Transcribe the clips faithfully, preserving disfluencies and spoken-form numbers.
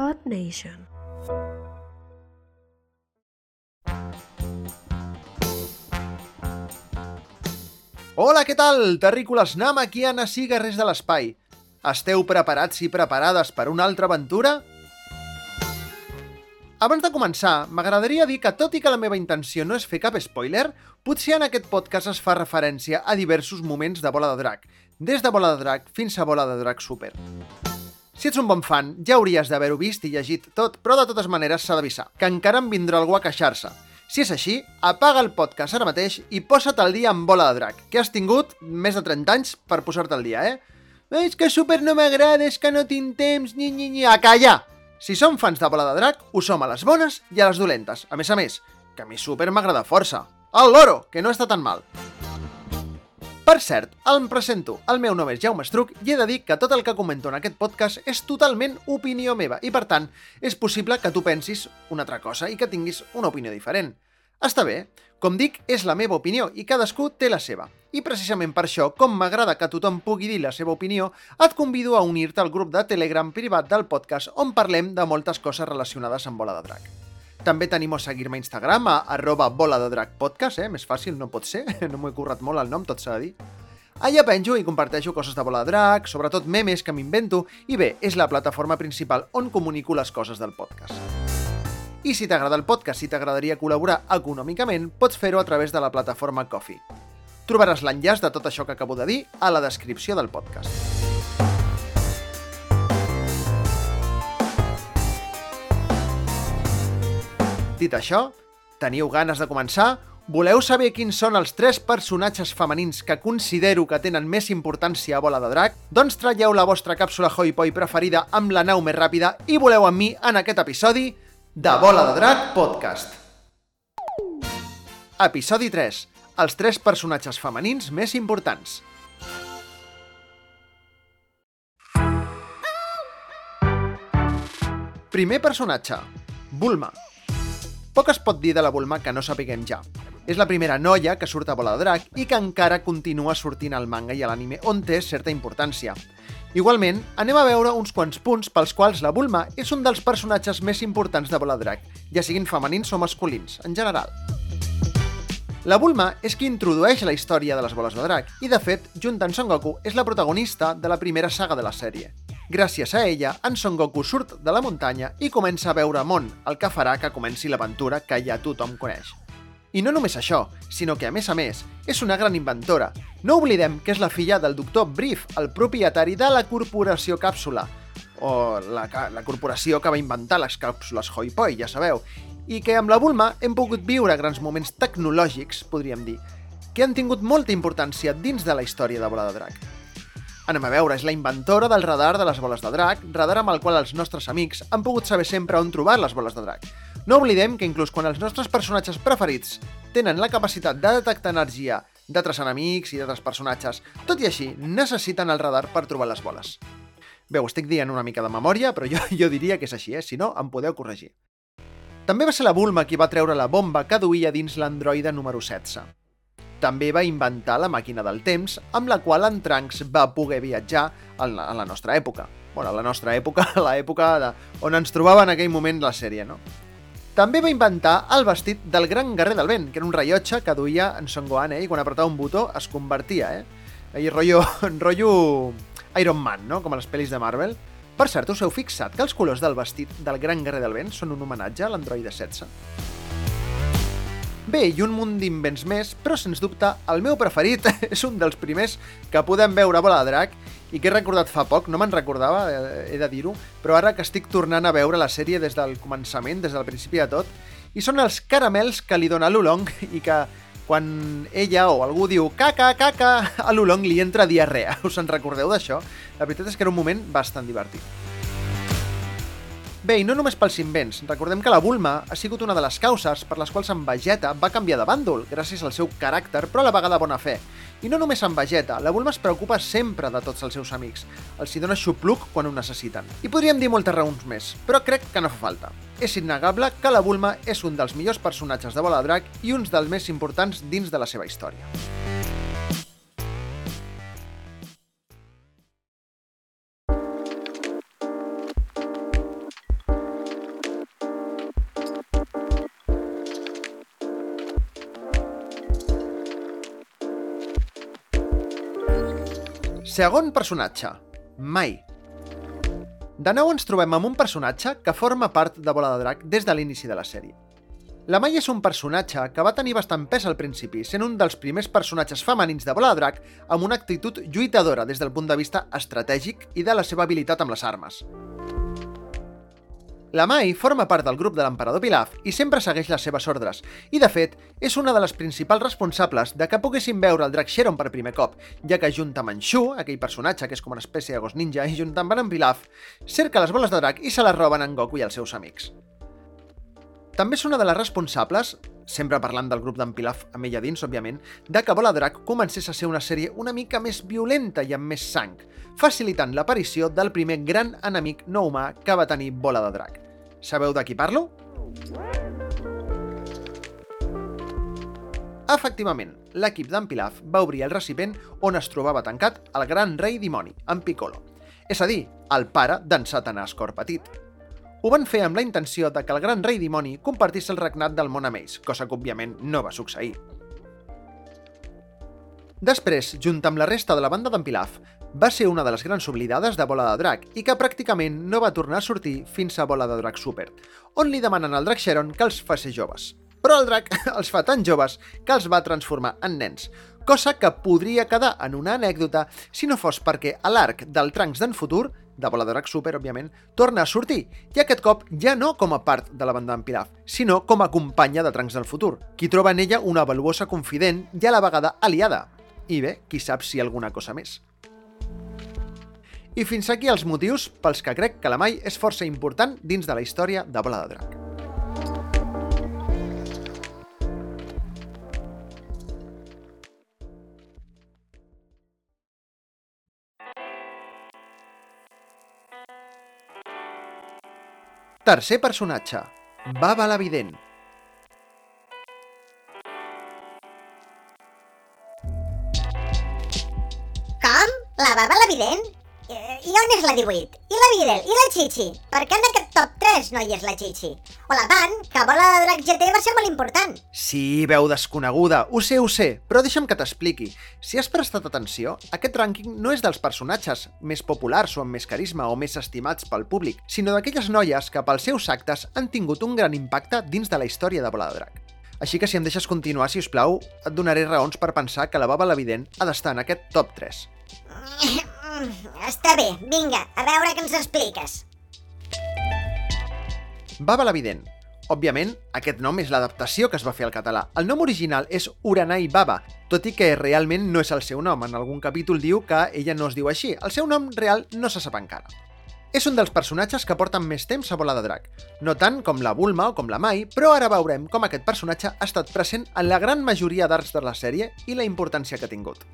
Earth Nation. Hola, què tal? Terrícoles namekianes i guerrers de l'espai. Esteu preparats i preparades per una altra aventura? Abans de començar, m'agradaria dir que tot i que la meva intenció no és fer cap spoiler, potser en aquest podcast es fa referència a diversos moments de Bola de Drac, des de Bola de Drac fins a Bola de Drac Super. Si ets un bon fan, ja hauries d'haver-ho vist i llegit tot, però de totes maneres s'ha d'avisar, que encara em vindrà algú a queixar-se. Si és així, apaga el podcast ara mateix i posa't al dia amb Bola de Drac, que has tingut més de trenta anys per posar-te al dia, eh? És que Super no m'agrada, és que no tinc temps, ni ni ni... A callar! Si som fans de Bola de Drac, ho som a les bones i a les dolentes. A més a més, que a mi Super m'agrada força. El loro, que no està tan mal. Per cert, em presento. El meu nom és Jaume Estruc i he de dir que tot el que comento en aquest podcast és totalment opinió meva i, per tant, és possible que tu pensis una altra cosa i que tinguis una opinió diferent. Està bé. Com dic, és la meva opinió i cadascú té la seva. I precisament per això, com m'agrada que tothom pugui dir la seva opinió, et convido a unir-te al grup de Telegram privat del podcast on parlem de moltes coses relacionades amb Bola de Drac. També t'animo a seguir-me a Instagram, a arroba bola de drac podcast, eh? Més fàcil no pot ser, no m'ho he currat molt el nom, tot s'ha de dir. Allà penjo i comparteixo coses de Bola de Drac, sobretot memes que m'invento, i bé, és la plataforma principal on comunico les coses del podcast. I si t'agrada el podcast i t'agradaria col·laborar econòmicament, pots fer-ho a través de la plataforma Ko-fi. Trobaràs l'enllaç de tot això que acabo de dir a la descripció del podcast. Dit això, teniu ganes de començar? Voleu saber quins són els tres personatges femenins que considero que tenen més importància a Bola de Drac? Doncs traieu la vostra càpsula Hoi-Poi preferida amb la nau més ràpida i voleu amb mi en aquest episodi de Bola de Drac Podcast. Episodi tres. Els tres personatges femenins més importants. Primer personatge. Bulma. Poc es pot dir de la Bulma que no sapiguem ja. És la primera noia que surt a Bola de Drac i que encara continua sortint al manga i a l'anime, on té certa importància. Igualment, anem a veure uns quants punts pels quals la Bulma és un dels personatges més importants de Bola de Drac, ja siguin femenins o masculins, en general. La Bulma és qui introdueix la història de les boles de drac i, de fet, junt amb Son Goku, és la protagonista de la primera saga de la sèrie. Gràcies a ella, en Son Goku surt de la muntanya i comença a veure món, el que farà que comenci l'aventura que ja tothom coneix. I no només això, sinó que, a més a més, és una gran inventora. No oblidem que és la filla del doctor Brief, el propietari de la corporació Càpsula, o la, la corporació que va inventar les càpsules Hoi-Poi, ja sabeu, i que amb la Bulma hem pogut viure grans moments tecnològics, podríem dir, que han tingut molta importància dins de la història de Bola de Drac. Anem a veure, és la inventora del radar de les boles de drac, radar amb el qual els nostres amics han pogut saber sempre on trobar les boles de drac. No oblidem que inclús quan els nostres personatges preferits tenen la capacitat de detectar energia d'altres enemics i d'altres personatges, tot i així necessiten el radar per trobar les boles. Bé, ho estic dient una mica de memòria, però jo, jo diria que és així, eh? Si no, em podeu corregir. També va ser la Bulma qui va treure la bomba que duia dins l'androide número setze. També va inventar la màquina del temps, amb la qual en Trunks va poder viatjar a la, a la nostra època. Bueno, a la nostra època, a l'època de, on ens trobava en aquell moment la sèrie, no? També va inventar el vestit del gran guerrer del vent, que era un rellotge que duia en Son Gohan, eh? I quan apretava un botó es convertia, eh? Ahí rotllo, rotllo Iron Man, no? Com a les pel·lis de Marvel. Per cert, us heu fixat que els colors del vestit del gran guerrer del vent són un homenatge a l'androide setze? Bé, i un munt d'invents més, però sens dubte el meu preferit és un dels primers que podem veure a Bola de Drac i que he recordat fa poc, no me'n recordava, he de dir-ho, però ara que estic tornant a veure la sèrie des del començament, des del principi de tot, i són els caramels que li dona l'Oolong i que quan ella o algú diu caca, caca, a l'Oolong li entra diarrea. Us en recordeu d'això? La veritat és que era un moment bastant divertit. Bé, i no només pels invents. Recordem que la Bulma ha sigut una de les causes per les quals en Vegeta va canviar de bàndol, gràcies al seu caràcter, però a la vegada bona fe. I no només en Vegeta, la Bulma es preocupa sempre de tots els seus amics. Els hi dona xupluc quan ho necessiten. I podríem dir moltes raons més, però crec que no fa falta. És innegable que la Bulma és un dels millors personatges de Bola de Drac i un dels més importants dins de la seva història. Segon personatge, Mai. De nou ens trobem amb un personatge que forma part de Bola de Drac des de l'inici de la sèrie. La Mai és un personatge que va tenir bastant pes al principi, sent un dels primers personatges femenins de Bola de Drac amb una actitud lluitadora des del punt de vista estratègic i de la seva habilitat amb les armes. La Mai forma part del grup de l'emperador Pilaf i sempre segueix les seves ordres, i de fet, és una de les principals responsables de que poguéssim veure el drac Xeron per primer cop, ja que junt amb en Shu, aquell personatge que és com una espècie de gos ninja, i junt amb en Pilaf, cerca les boles de drac i se les roben en Goku i els seus amics. També és una de les responsables, sempre parlant del grup d'en Pilaf amb ella dins, òbviament, de que Bola de Drac comencés a ser una sèrie una mica més violenta i amb més sang, facilitant l'aparició del primer gran enemic no humà que va tenir Bola de Drac. Sabeu de qui parlo? Efectivament, l'equip d'en Pilaf va obrir el recipient on es trobava tancat el gran rei dimoni, en Piccolo, és a dir, el pare d'en Satanàs Cor Petit. Ho van fer amb la intenció de que el gran rei dimoni compartís el regnat del món amb ells, cosa que òbviament no va succeir. Després, junt amb la resta de la banda d'en Pilaf, va ser una de les grans oblidades de Bola de Drac i que pràcticament no va tornar a sortir fins a Bola de Drac Super, on li demanen al drac Xeron que els faci joves. Però el drac els fa tan joves que els va transformar en nens, cosa que podria quedar en una anècdota si no fos perquè a l'arc del Trunks d'en futur, de Bola de Drac Super, òbviament, torna a sortir, i aquest cop ja no com a part de la banda d'en Pilaf, sinó com a companya de Trunks del futur, qui troba en ella una valuosa confident i a la vegada aliada. I bé, qui sap si alguna cosa més. I fins aquí els motius pels que crec que la Mai és força important dins de la història de Bola de Drac. Tercer personatge, Baba la Vident. Com? La Baba la Vident? I on és la divuit? I la Videl? I la Chichi? Per què en aquest top tres no hi és la Chichi? O la Pan, que Bola de Drac G T va ser molt important. Sí, veu desconeguda, ho sé, ho sé, però deixa'm que t'expliqui. Si has prestat atenció, aquest rànquing no és dels personatges més populars o amb més carisma o més estimats pel públic, sinó d'aquelles noies que pels seus actes han tingut un gran impacte dins de la història de Bola de Drac. Així que si em deixes continuar, si us plau, et donaré raons per pensar que la Baba la Vident ha d'estar en aquest top tres. Està bé, vinga, a veure què ens expliques. Baba la Vident. Òbviament, aquest nom és l'adaptació que es va fer al català. El nom original és Uranai Baba, tot i que realment no és el seu nom. En algun capítol diu que ella no es diu així. El seu nom real no se sap encara. És un dels personatges que porten més temps a Bola de Drac. No tant com la Bulma o com la Mai, però ara veurem com aquest personatge ha estat present en la gran majoria d'arcs de la sèrie i la importància que ha tingut.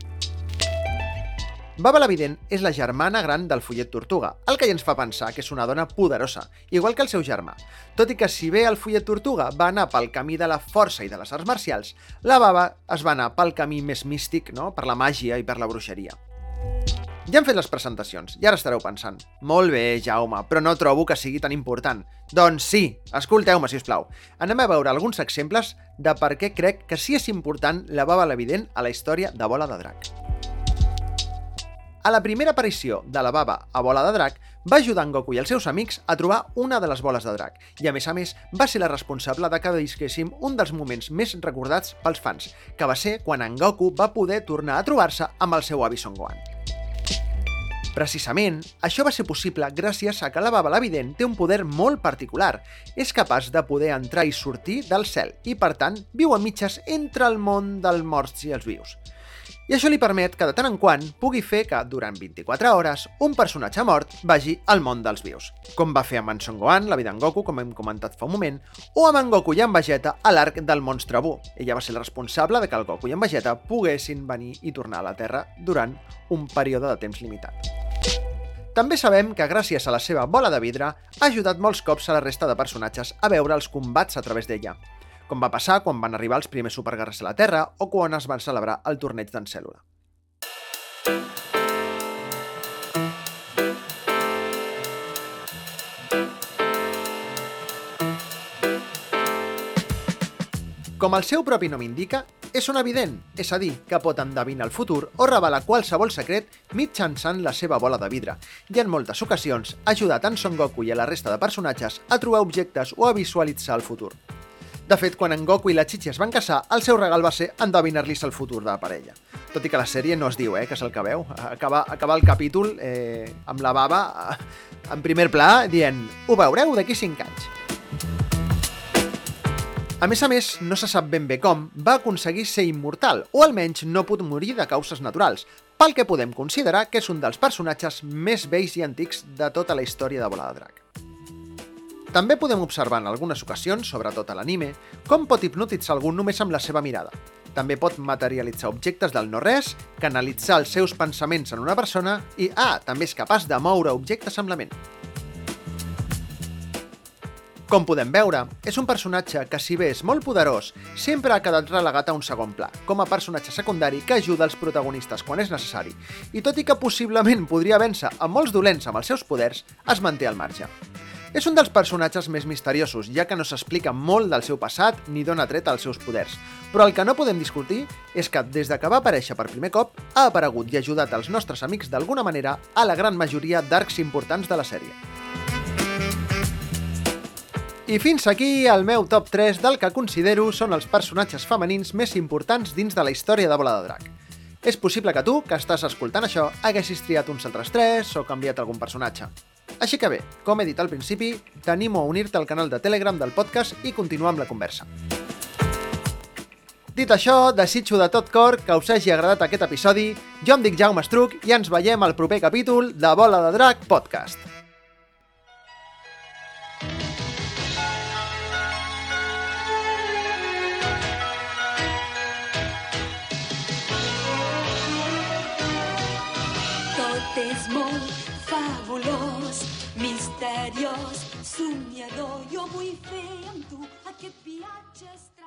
Baba la Vident és la germana gran del Follet Tortuga, el que ja ens fa pensar que és una dona poderosa, igual que el seu germà. Tot i que si bé el Follet Tortuga va anar pel camí de la força i de les arts marcials, la Baba es va anar pel camí més místic, no? Per la màgia i per la bruixeria. Ja hem fet les presentacions, i ara estareu pensant: molt bé, Jaume, però no trobo que sigui tan important. Doncs sí, escolteu-me, si us plau. Anem a veure alguns exemples de per què crec que sí és important la Baba la Vident a la història de Bola de Drac. A la primera aparició de la Baba a Bola de Drac, va ajudar en Goku i els seus amics a trobar una de les boles de drac, i a més a més va ser la responsable de que visquéssim un dels moments més recordats pels fans, que va ser quan en Goku va poder tornar a trobar-se amb el seu avi Son Gohan. Precisament, això va ser possible gràcies a que la Baba la Vident té un poder molt particular. És capaç de poder entrar i sortir del cel i, per tant, viu a mitges entre el món dels morts i els vius. I això li permet que de tant en quant pugui fer que, durant vint-i-quatre hores, un personatge mort vagi al món dels vius, com va fer amb en Son Gohan, la vida d'en Goku, com hem comentat fa un moment, o amb en Goku i en Vegeta a l'arc del monstre Bu. Ella va ser la responsable de que el Goku i en Vegeta poguessin venir i tornar a la Terra durant un període de temps limitat. També sabem que gràcies a la seva bola de vidre ha ajudat molts cops a la resta de personatges a veure els combats a través d'ella, com va passar quan van arribar els primers superguerrers a la Terra o quan es van celebrar el torneig d'en Cèl·lula. Com el seu propi nom indica, És un evident, és a dir, que pot endevinar el futur o revelar qualsevol secret mitjançant la seva bola de vidre, i en moltes ocasions ha ajudat en Son Goku i a la resta de personatges a trobar objectes o a visualitzar el futur. De fet, quan en Goku i la Chi-Chi es van casar, el seu regal va ser endevinar-li el futur de la parella. Tot i que la sèrie no es diu, eh, que és el que veu. Acaba, acaba el capítol eh, amb la baba eh, en primer pla dient «Ho veureu d'aquí cinc anys». A més a més, no se sap ben bé com, va aconseguir ser immortal, o almenys no pot morir de causes naturals, pel que podem considerar que és un dels personatges més vells i antics de tota la història de Bola de Drac. També podem observar en algunes ocasions, sobretot a l'anime, com pot hipnotitzar algú només amb la seva mirada. També pot materialitzar objectes del no-res, canalitzar els seus pensaments en una persona i, ah, també és capaç de moure objectes amb la ment. Com podem veure, és un personatge que, si bé és molt poderós, sempre ha quedat relegat a un segon pla, com a personatge secundari que ajuda els protagonistes quan és necessari, i tot i que possiblement podria vèncer a molts dolents amb els seus poders, es manté al marge. És un dels personatges més misteriosos, ja que no s'explica molt del seu passat ni d'on ha tret els seus poders, però el que no podem discutir és que, des de que va aparèixer per primer cop, ha aparegut i ajudat els nostres amics d'alguna manera a la gran majoria d'arcs importants de la sèrie. I fins aquí el meu top tres del que considero són els personatges femenins més importants dins de la història de Bola de Drac. És possible que tu, que estàs escoltant això, haguessis triat uns altres tres o canviat algun personatge. Així que bé, com he dit al principi, t'animo a unir-te al canal de Telegram del podcast i continuar amb la conversa. Dit això, desitjo de tot cor que us hagi agradat aquest episodi. Jo em dic Jaume Estruc i ens veiem al proper capítol de Bola de Drac Podcast. Tot és molt fabulós, misteriós, somiador. Jo vull fer amb tu aquest viatge estrany.